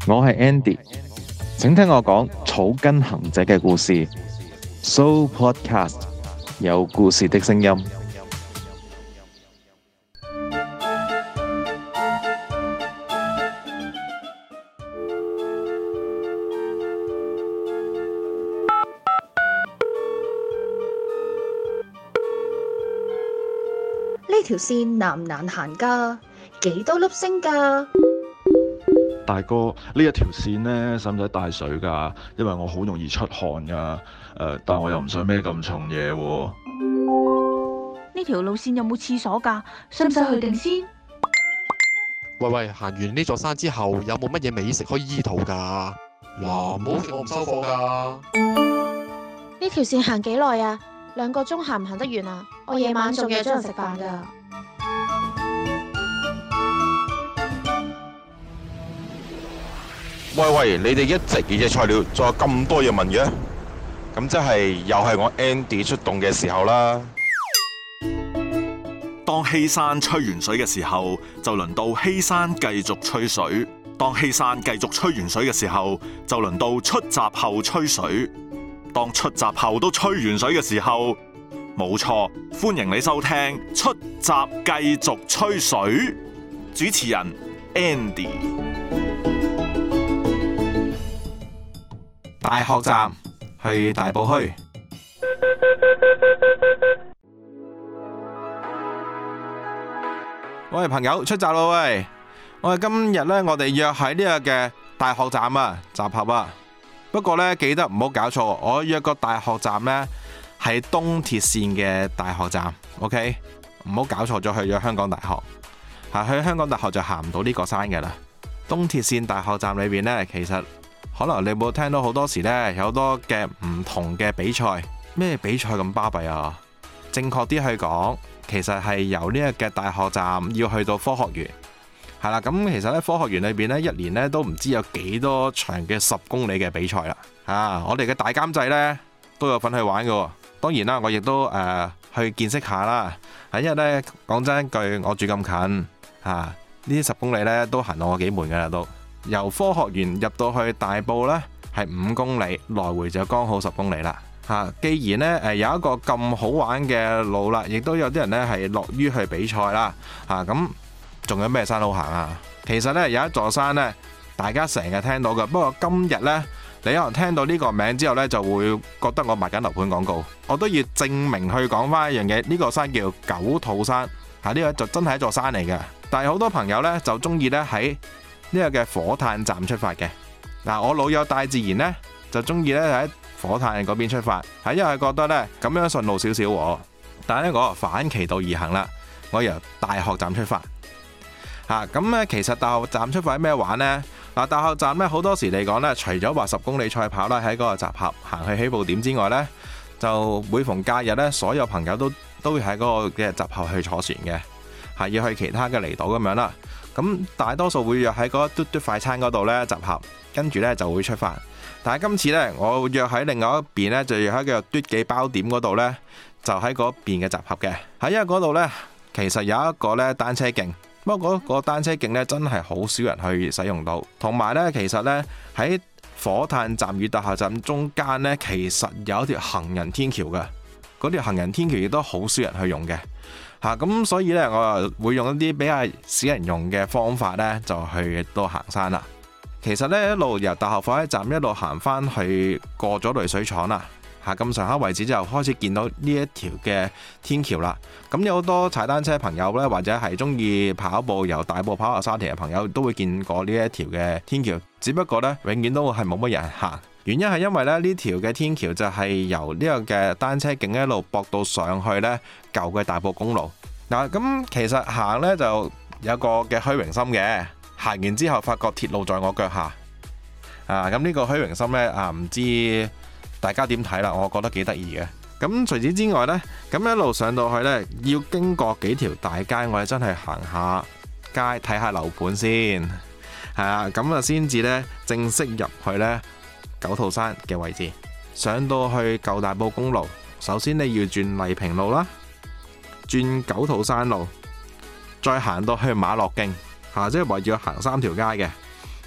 我係 Andy，請聽我講草根行者嘅故事。So Podcast 有故事的聲音。 呢條線難唔難行㗎？幾多粒星㗎？ 大哥，呢一條線呢，使唔使帶水㗎？因為我好容易出汗㗎。但我又唔想孭咁重嘢喎。 呢條路線有冇廁所㗎？使唔使去定先？ 喂，行完呢座山之後，有冇乜嘢美食可以醫肚㗎？嗱，唔好叫我唔收貨㗎。 呢條線行幾耐啊？2個鐘行唔行得完啊？我夜晚仲約咗人食飯㗎。 喂，你哋一直嘅材料，仲有咁多嘢問嘅，咁即係又係我 Andy 出動嘅時候啦。 當希山吹完水嘅時候，就輪到希山繼續吹水；當希山繼續吹完水嘅時候，就輪到出閘後吹水。當出閘後都吹完水嘅時候，冇錯，歡迎你收聽出閘繼續吹水。主持人 Andy。 大學站去大埔墟。喂，朋友出閘咯喂！我哋今日呢，我哋約喺呢個嘅大學站啊，集合啊。不過呢，記得唔好搞錯，我約個大學站呢，係東鐵線嘅大學站 ，OK？ 唔好搞錯咗去咗香港大學。去香港大學就行唔到呢個山嘅啦。東鐵線大學站裏邊呢，其實可能你冇聽到好多時呢，有好多嘅唔同嘅比賽。咩比賽咁巴閉啊？正確啲去講，其實係由呢一個大學站要去到科學園。係啦，咁其實咧科學園裏邊呢，一年呢都唔知有幾多場嘅10公里嘅比賽啦。我哋嘅大監製呢都有份去玩嘅。當然啦，我亦都去見識下啦。因為呢，講真一句，我住咁近呢啲10公里呢都行到我幾悶噶啦都。由科學園入到去大埔呢係5公里，來回就剛好10公里啦。既然呢有一個咁好玩嘅路啦，亦都有啲人呢係樂於去比賽啦。咁仲有咩山好行啊？其實呢有一座山呢，大家成日聽到嘅。不過今日呢，你可能聽到呢個名之後呢，就會覺得我賣緊樓盤廣告。我都要證明去講翻一樣嘢，呢個山叫九肚山。呢個就真係一座山嚟嘅。但係好多朋友呢，就中意呢喺呢個嘅火炭站出發嘅。我老友大自然呢，就中意呢喺火炭嗰邊出發，因為覺得呢咁樣順路少少。但係呢，我反其道而行啦，我由大學站出發。咁呢其實大學站出發係咩玩呢？大學站呢好多時嚟講呢，除咗話10公里賽跑啦，喺嗰個集合行去起步點之外呢，就每逢假日呢，所有朋友都會喺嗰個嘅集合去坐船嘅，要去其他嘅離島咁樣啦。咁大多數會約喺嗰嘟嘟快餐嗰度呢集合，跟住呢就會出發。但係今次呢，我約喺另外一邊呢，就約喺個嘟記包點嗰度呢，就喺嗰邊嘅集合嘅。因為嗰度呢，其實有一個呢單車徑，不過嗰個單車徑呢，真係好少人去使用到。同埋呢，其實呢，喺火炭站與大學站中間呢，其實有一條行人天橋嘅。嗰條行人天橋亦都好少人去用嘅。咁所以呢，我又會用一啲比較少人用嘅方法呢，就去到行山啦。其實呢，一路由大學火車站一路行返去過咗濾水廠啦，咁上下位置之後開始見到呢一條嘅天橋啦。咁有好多踩單車朋友呢，或者係中意跑步由大埔跑落沙田嘅朋友都會見過呢一條嘅天橋，只不過呢，永遠都係冇乜人行。原因係因為呢條嘅天橋就係由呢個嘅單車徑一路駁到上去呢舊嘅大埔公路。咁其實行呢就有個嘅虛榮心嘅。行完之後發覺鐵路在我腳下，咁呢個虛榮心呢，唔知大家點睇啦？我覺得幾得意嘅。咁除此之外呢，咁一路上到去呢，要經過幾條大街，我哋真係行下街睇下樓盤先，咁啊先至呢正式入去呢九肚山嘅位置。上到去舊大埔公路，首先你要轉麗平路啦，轉九肚山路，再行到去馬樂徑。即係話要行3條街嘅。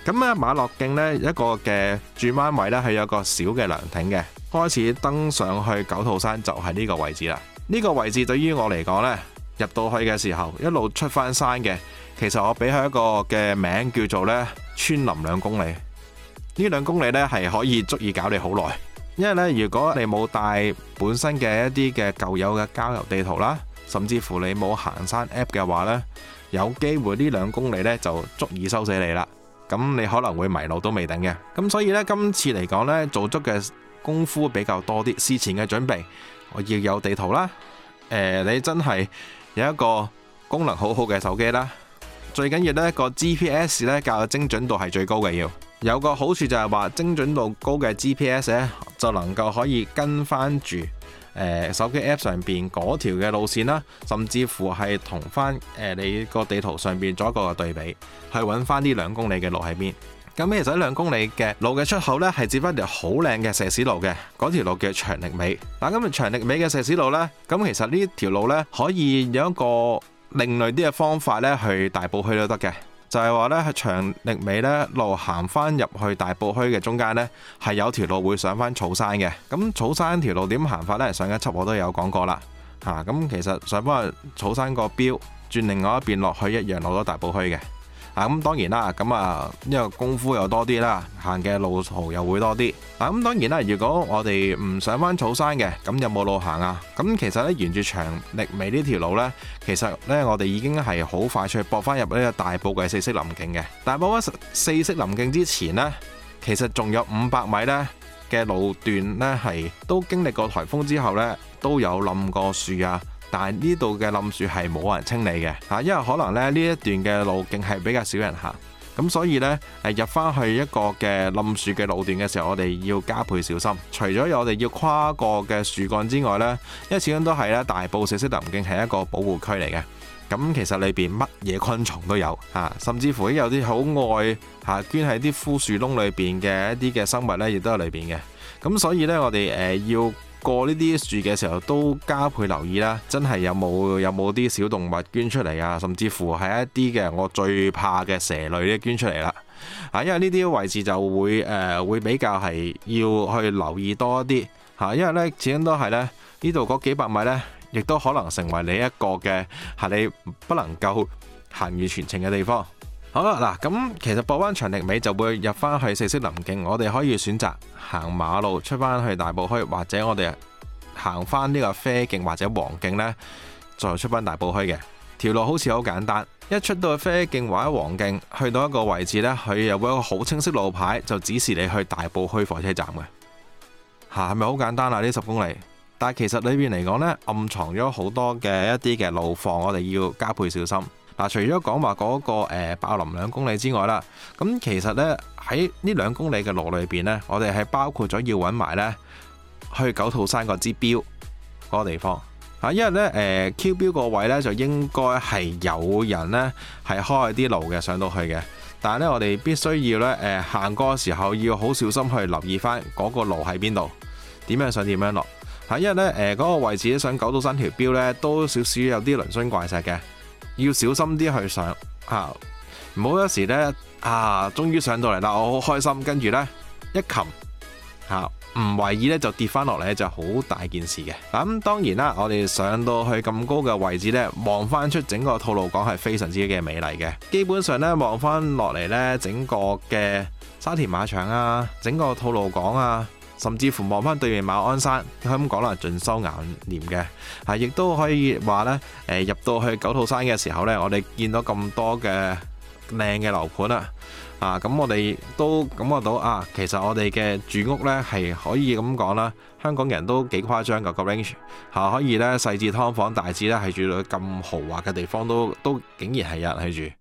咁咧馬樂徑呢，一個嘅轉彎位呢，係有個小嘅涼亭嘅，開始登上去九肚山就係呢個位置啦。呢個位置對於我嚟講呢，入到去嘅時候一路出翻山嘅，其實我俾佢一個嘅名叫做呢穿林2公里。呢2公里呢，係可以足以搞你好耐，因為呢，如果你冇帶本身嘅一啲嘅舊有嘅郊遊地圖啦，甚至乎你冇行山 app 嘅話呢，有機會呢2公里呢就足以收死你啦。咁你可能會迷路都未定嘅。咁所以呢，今次嚟講呢，做足嘅功夫比較多啲，事前嘅準備我要有地圖啦。你真係有一個功能好好嘅手機啦，最緊要呢個 GPS 呢，較精準度係最高嘅，要有個好處就係話精準度高嘅 GPS 呢，就能夠可以跟翻住手機 App 上邊嗰條嘅路線啦，甚至乎係同翻你個地圖上邊做一個對比，去揾翻呢2公里嘅路喺邊。咁其實2公里嘅路嘅出口呢，係接翻條好靚嘅石屎路嘅，嗰條路叫長力尾。嗱，咁長力尾嘅石屎路呢，咁其實呢條路呢，可以有一個另類啲嘅方法呢，去大埔墟都得嘅。就係話呢，係長力尾呢路行翻入去大埔墟嘅中間呢，係有條路會上翻草山嘅。咁草山條路點行法呢？上一輯我都有講過啦。咁其實上翻去草山個標，轉另外一邊落去一樣落到大埔墟嘅。咁當然啦，因為功夫又多啲啦，行嘅路途又會多啲。咁當然啦，如果我哋唔上翻草山嘅，咁有冇路行啊？咁其實呢，沿住長力尾呢條路呢，其實呢，我哋已經係好快脆駁翻入呢個大埔嘅4色林徑嘅。但係駁翻4色林徑之前呢，其實仲有500米呢嘅路段呢，係都經歷過颱風之後呢，都有冧過樹啊。但係呢度嘅冧樹係冇人清理嘅，因為可能呢一段嘅路徑係比較少人行，咁所以呢，入翻去一個嘅冧樹嘅路段嘅時候，我哋要加倍小心。除咗我哋要跨過嘅樹幹之外呢，因為始終都係咧大埔4色林徑係一個保護區嚟嘅，咁其實裏邊乜嘢昆蟲都有，甚至乎有啲好愛捐喺啲枯樹窿裏邊嘅一啲嘅生物呢，亦都喺裏邊嘅。咁所以呢，我哋要過呢啲樹嘅時候都加倍留意啦，真係有冇啲小動物捐出嚟啊，甚至乎係一啲嘅我最怕嘅蛇類咧捐出嚟啦。因為呢啲位置就會比較係要去留意多一啲，因為呢始終都係呢度嗰幾百米呢，亦都可能成為你一個嘅你不能夠行完全程嘅地方。好啦，嗱，咁其實駁灣長力尾就會入翻去4色林徑，我哋可以選擇行馬路出翻去大埔墟，或者我哋行翻呢個啡徑或者黃徑呢，再出翻大埔墟嘅條路好似好簡單。一出到去啡徑或者黃徑，去到一個位置呢，佢又會有一個好清晰路牌，就指示你去大埔墟火車站嘅。係咪好簡單啊？呢10公里，但係其實裏邊嚟講呢，暗藏咗好多嘅一啲嘅路況，我哋要加倍小心。除咗講話嗰個爆林2公里之外啦，咁其實呢，喺呢2公里嘅路裏邊呢，我哋係包括咗要揾埋呢去九肚山個支標嗰個地方。因為呢Q 標個位呢，就應該係有人呢係開啲路嘅上到去嘅，但係呢，我哋必須要呢行過嘅時候要好小心去留意翻嗰個路喺邊度，點樣上點樣落。因為呢嗰個位置上九肚山條標呢，都少少有啲嶙峋怪石嘅。要小心啲去上，唔好有時呢，終於上到嚟啦，我好開心，跟住呢，一擒唔為意呢，就跌翻落嚟，就好大件事嘅。咁當然啦，我哋上到去咁高嘅位置呢，望翻出整個吐露港係非常之嘅美麗嘅。基本上呢，望翻落嚟呢，整個嘅沙田馬場啊，整個吐露港啊，甚至乎望翻對面馬鞍山，咁講啦，盡收眼簾嘅，亦都可以話呢，入到去九肚山嘅時候呢，我哋見到咁多嘅靚嘅樓盤啦，咁我哋都感覺到其實我哋嘅住屋呢係可以咁講啦，香港人都幾誇張㗎個 range，可以呢細至劏房，大至呢係住到咁豪華嘅地方都竟然係有人去住。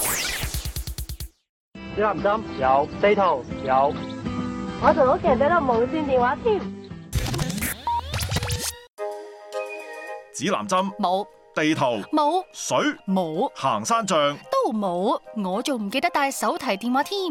指南針有，地圖有。 我同屋企人都有無線電話添。 指南針冇， 地圖冇， 水冇， 行山杖都冇，我仲唔記得帶手提電話添。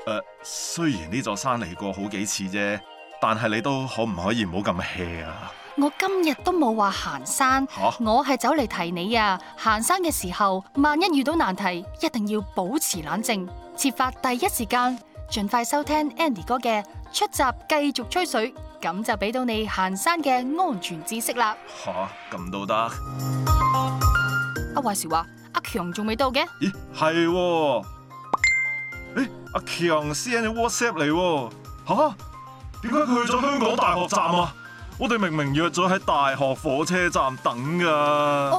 雖然呢座山嚟過好幾次啫，但係你都可唔可以唔好咁 hea 啊？ 我今日都冇話行山，我係走嚟提你啊！行山嘅時候，萬一遇到難題，一定要保持冷靜，設法第一時間盡快收聽 Andy 哥嘅出閘繼續吹水，咁就俾到你行山嘅安全知識啦。 咁都得？ 阿話時話，阿強仲未到嘅？ 咦，係喎？阿強 send 咗 WhatsApp 嚟喎。點解佢去咗香港大學站啊？我哋明明約咗喺大學火車站等噶。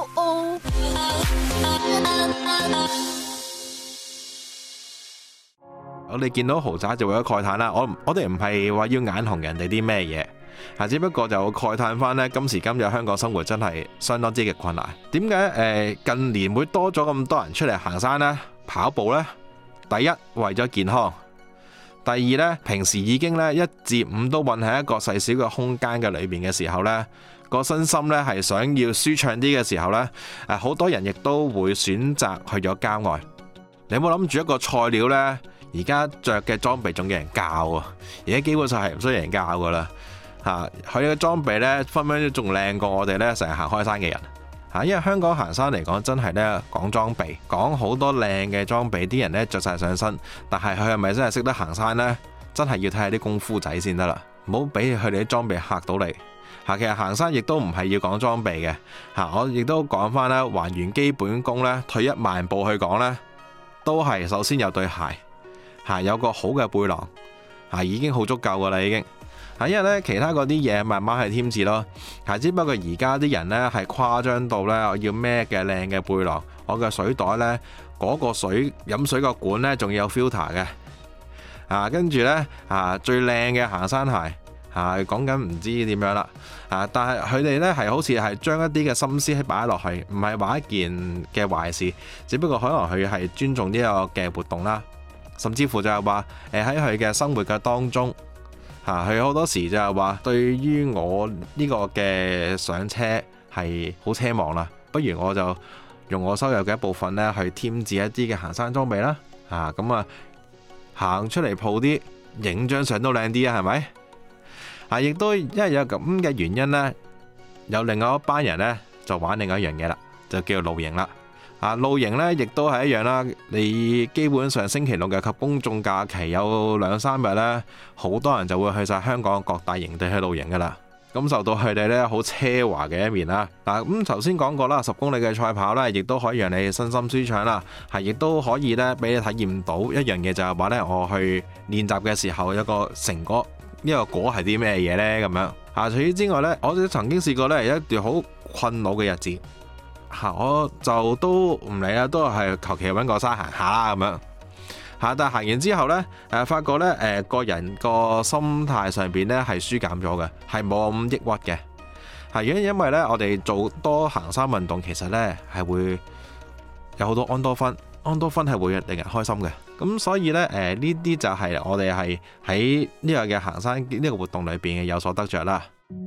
我哋見到豪宅就會有慨嘆啦。我哋唔係話要眼紅人哋啲咩嘢，只不過就慨嘆翻呢，今時今日香港生活真係相當之嘅困難。點解近年會多咗咁多人出嚟行山呢？跑步呢？第一為咗健康。第二呢，平時已經呢1至5都混喺一個細小嘅空間嘅裏面嘅時候呢，個身心呢係想要舒暢啲嘅時候呢，好多人亦都會選擇去咗郊外。你有冇諗住一個菜鳥呢？而家着嘅裝備仲有人教啊！而家基本上係唔需要人教噶啦，佢嘅裝備呢，分分鐘仲靚過我哋呢成日行開山嘅人。因為香港行山嚟講，真係呢講裝備，講好多靚嘅裝備，啲人呢着晒上身，但係佢係咪真係識得行山呢？真係要睇下啲功夫仔先得啦，唔好俾佢哋啲裝備嚇到你。其實行山亦都唔係要講裝備嘅，我亦都講翻啦，還原基本功呢，退一萬步去講呢，都係首先有對鞋，有個好嘅背囊，已經好足夠噶啦已經。因為咧其他嗰啲嘢慢慢係添置咯，只不過而家啲人呢係誇張到呢，我要孭嘅靚嘅背囊，我嘅水袋呢，嗰個飲水個管呢仲要有 filter 嘅，跟住呢，最靚嘅行山鞋，講緊唔知點樣啦，但係佢哋呢係好似係將一啲嘅心思擺落去，唔係話一件嘅壞事，只不過可能佢係尊重呢個嘅活動啦，甚至乎就係話喺佢嘅生活嘅當中。佢好多時就係話，對於我呢個嘅上車係好奢望啦，不如我就用我收入嘅一部分呢去添置一啲嘅行山裝備啦，咁行出嚟鋪啲，影張相都靚啲啊，係咪？亦都因為有咁嘅原因呢，有另外一班人呢就玩另外一樣嘢啦，就叫做露營啦。露營呢亦都係一樣啦，你基本上星期六日及公眾假期有2-3日呢，好多人就會去晒香港各大營地去露營噶啦，感受到佢哋呢好奢華嘅一面啦。咁頭先講過啦，10公里嘅賽跑呢，亦都可以讓你身心舒暢啦，亦都可以呢俾你體驗到一樣嘢，就係話呢，我去練習嘅時候有個成果，呢個果係啲咩嘢呢？咁樣。除此之外呢，我曾經試過呢有一段好困惱嘅日子。我就都唔理啦，都係求其揾個山行下啦咁樣。但係行完之後呢，發覺呢個人個心態上邊呢係舒減咗嘅，係冇咁抑鬱嘅。因為呢，我哋做多行山運動，其實呢係會有好多安多酚，安多酚係會令人開心嘅。咁所以呢，呢啲就係我哋係喺呢個嘅行山呢個活動裏邊嘅有所得着啦。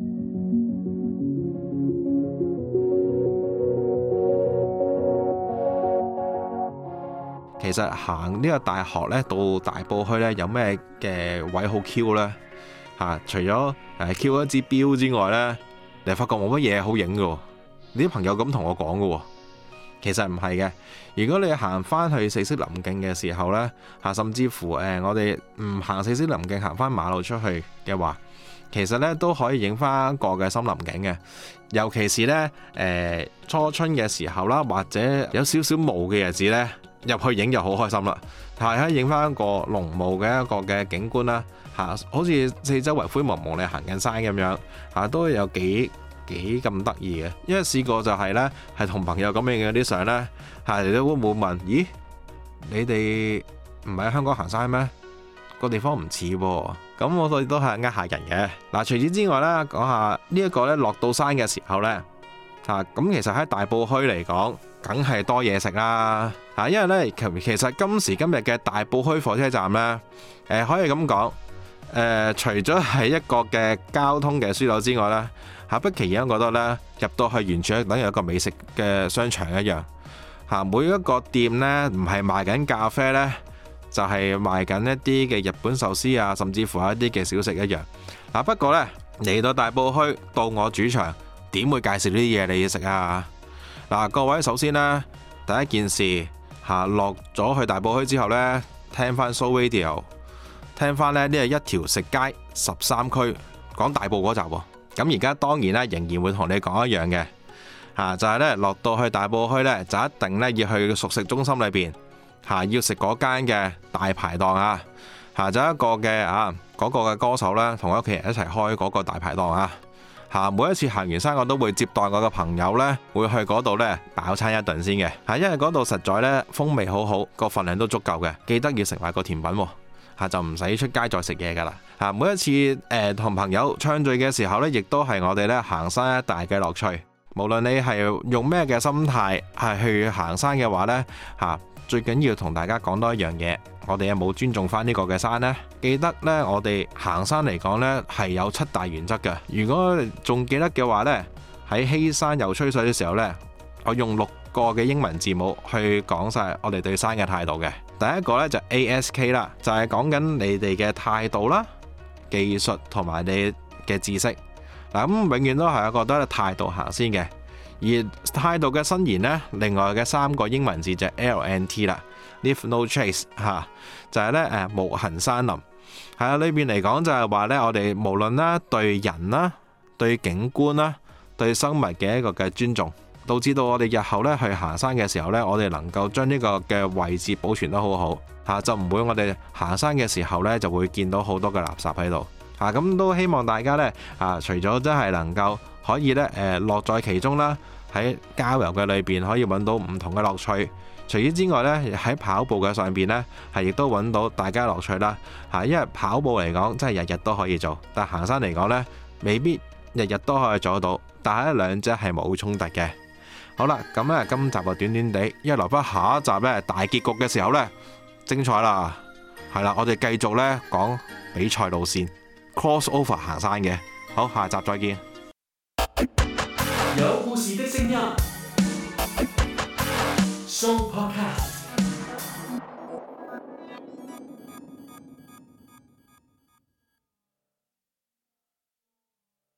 其實行呢個大學呢，到大埔墟呢，有咩嘅位好 Q 呢？除咗Q 一支標之外呢，你發覺冇乜嘢好影嘅。你啲朋友咁同我講嘅，其實唔係嘅。如果你行翻去四色林徑嘅時候呢，甚至乎我哋唔行四色林徑，行翻馬路出去嘅話，其實呢都可以影翻一個嘅森林景嘅。尤其是呢，初春嘅時候啦，或者有少少霧嘅日子呢，入去影就好開心啦，係可以影翻一個濃霧嘅一個嘅景觀啦，好似四周圍灰蒙蒙你行緊山咁樣，都有幾咁得意嘅。因為試過就係呢，係同朋友咁樣嘅啲相呢，你都會問，咦，你哋唔係喺香港行山咩？個地方唔似喎。咁我哋都係呃下人嘅。除此之外呢，講下呢一個呢，落到山嘅時候呢，咁其實喺大埔墟嚟講，梗係多嘢食啦。因為呢，其實今時今日嘅大埔墟火車站呢，可以咁講，除咗係一個嘅交通嘅樞紐之外呢，不其然覺得呢，入到去完全等於一個美食嘅商場一樣。每一個店呢，唔係賣緊咖啡呢，就係賣緊一啲嘅日本壽司啊，甚至乎一啲嘅小食一樣。不過呢， 嚟到大埔墟，到我主場，點會介紹呢啲嘢你要食啊？嗱，各位首先呢，第一件事落咗去大埔墟之後呢，聽翻 Soul Radio， 聽翻呢係一條食街13區講大埔嗰集喎。咁而家當然咧，仍然會同你講一樣嘅就係呢，落到去大埔墟呢，就一定呢要去熟食中心裏邊要食嗰間嘅大排檔啊。就一個嘅嗰個嘅歌手呢，同屋企人一齊開嗰個大排檔啊。每一次行完山，我都會接待我嘅朋友呢，會去嗰度呢飽餐一頓先嘅。因為嗰度實在呢風味好好，個份量都足夠嘅。記得要食埋個甜品喎，就唔使出街再食嘢噶啦。每一次同朋友暢聚嘅時候呢，亦都係我哋呢行山一大嘅樂趣。無論你係用咩嘅心態係去行山嘅話呢，最緊要同大家講多一樣嘢，我哋有冇尊重翻呢個嘅山呢？記得呢，我哋行山嚟講呢係有7大原則嘅。如果仲記得嘅話呢，喺希山遊吹水嘅時候呢，我用6個嘅英文字母去講晒我哋對山嘅態度嘅。第一個呢就 ASK 啦，就係講緊你哋嘅態度啦、技術同埋你嘅知識。咁永遠都係我覺得態度行先嘅。而態度嘅伸延呢，另外嘅3個英文字就係 LNT 啦 ，Leave No Trace 就係呢無痕山林。裏邊嚟講就係話呢，我哋無論啦對人啦、對景觀啦、對生物嘅一個嘅尊重，導致到我哋日後呢去行山嘅時候呢，我哋能夠將呢個嘅位置保存得好好就唔會我哋行山嘅時候呢就會見到好多嘅垃圾喺度。咁都希望大家呢，除咗真係能夠可以呢樂在其中啦，喺郊遊嘅裏邊可以揾到唔同嘅樂趣。除此之外呢，喺跑步嘅上邊呢，亦都揾到大家樂趣啦。因為跑步嚟講真係日日都可以做，但行山嚟講呢，未必日日都可以做得到。但係兩者係冇衝突嘅。好啦，咁呢今集就短短地，因為留翻下一集呢大結局嘅時候呢，精彩啦。係啦，我哋繼續呢講比賽路線。Crossover 行山嘅，好，下集再見。 有故事的聲音，Soul Podcast。